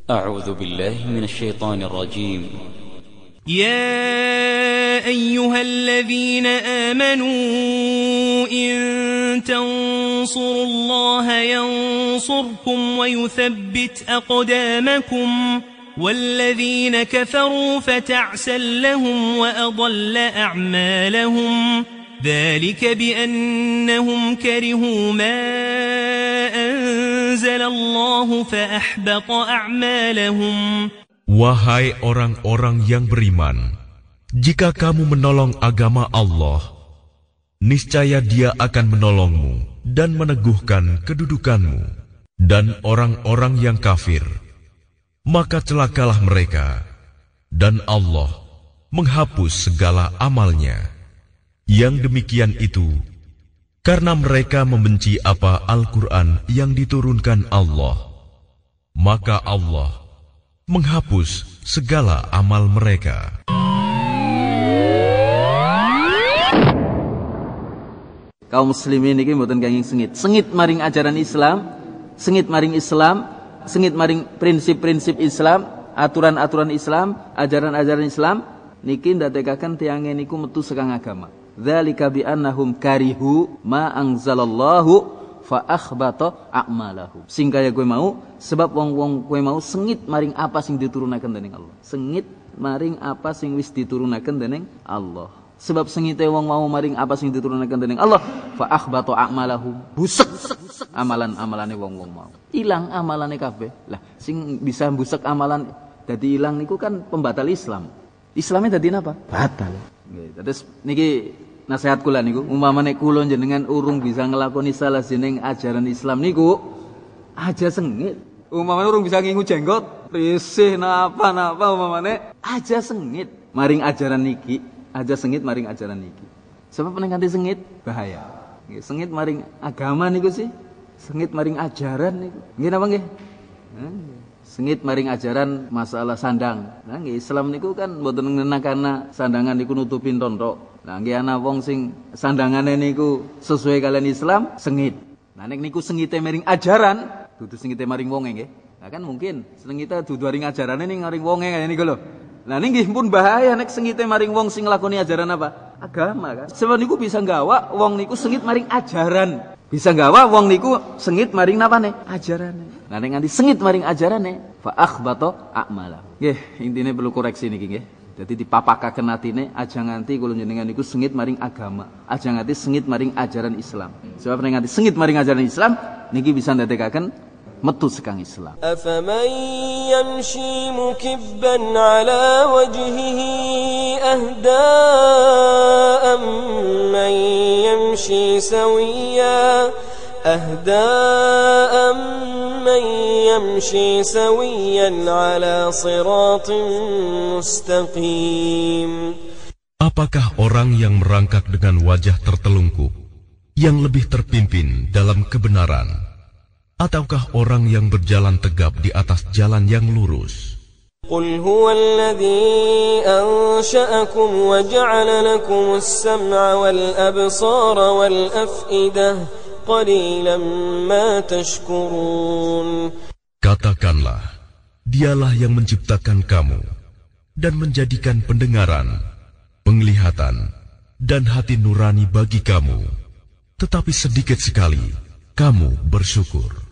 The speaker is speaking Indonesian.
أعوذ بالله من الشيطان الرجيم. يا أيها الذين آمنوا إن تنصروا الله ينصركم ويثبت أقدامكم والذين كفروا فتعسا لهم وأضل أعمالهم ذلك بأنهم كرهوا ما أنزل الله فأحبط أعمالهم. Wahai orang-orang yang beriman, jika kamu menolong agama Allah, niscaya Dia akan menolongmu dan meneguhkan kedudukanmu. Dan orang-orang yang kafir, maka celakalah mereka, dan Allah menghapus segala amalnya. Yang demikian itu karena mereka membenci apa Al-Quran yang diturunkan Allah, maka Allah menghapus segala amal mereka. Kaum muslimin iki mboten kenging sengit maring ajaran Islam, sengit maring Islam, sengit maring prinsip-prinsip Islam, aturan-aturan Islam, ajaran-ajaran Islam niki ndadekaken tiyange niku metu sekang agama. Dzalika bi annahum karihu ma anzalallahu fa akhbata a'malahum. Sing kaya kowe mau sebab wong-wong kowe mau sengit maring apa sing diturunaken dening Allah. Sengit maring apa sing wis diturunaken dening Allah. Sebab sengite wong mau maring apa sing diturunaken dening Allah, fa akhbata a'malahum. Busek amalan-amalane wong-wong mau. Ilang amalane kabeh. Lah sing bisa busek amalan dadi ilang niku kan pembatal Islam. Islamnya dadi napa? Batal. Nggih. Terus niki nasihat kula niku, umpamane kula jenengan urung bisa ngelakoni salah jeneng ajaran Islam niku, aja sengit. Umpamane urung bisa ngingu jenggot, risih napa umpamane, aja sengit maring ajaran niki, aja sengit maring ajaran niki. Sebab nek nganti sengit bahaya. Nggih, sengit maring agama niku sih, sengit maring ajaran niku. Nggih napa nggih? Sengit maring ajaran masalah sandang. Nah, nggih Islam niku kan mboten ngenakana sandangan niku nutupin tontok. Nah, nggih ana wong sing sandangane niku sesuai kalian Islam, sengit. Nah, nek niku sengite maring ajaran, dudu sengite maring wonge nggih. Nah, kan mungkin sengite dudu maring ajarane ning maring wonge kaya niku lho. Nah, niki pun bahaya nek sengite maring wong sing nglakoni ajaran apa? Agama kan. Sebab niku bisa gawa wong niku sengit maring ajaran. Bisa gawa wong niku sengit maring napane? Ajarane. Nah, nek nganti sengit maring ajarane, fa akhbata a'malah. Nggih, intine perlu koreksi niki nggih. Jadi dipapakaken atine aja nganti kula jenengan niku sengit maring agama, aja nganti sengit maring ajaran Islam. Sebab nek nganti sengit maring ajaran Islam niki bisa ndadekaken metu sekang Islam. Afaman yamshi mukibban ala wajhihi ahda amman yamshi sawiya من يمشي سويا على صراط مستقيم. Apakah orang yang merangkak dengan wajah tertelungkup yang lebih terpimpin dalam kebenaran, ataukah orang yang berjalan tegap di atas jalan yang lurus? قل هو الذي أنشأكم وجعل لكم السمع والأبصار والأفئدة قليلا ما تشكرون. Katakanlah, Dialah yang menciptakan kamu dan menjadikan pendengaran, penglihatan, dan hati nurani bagi kamu. Tetapi sedikit sekali kamu bersyukur.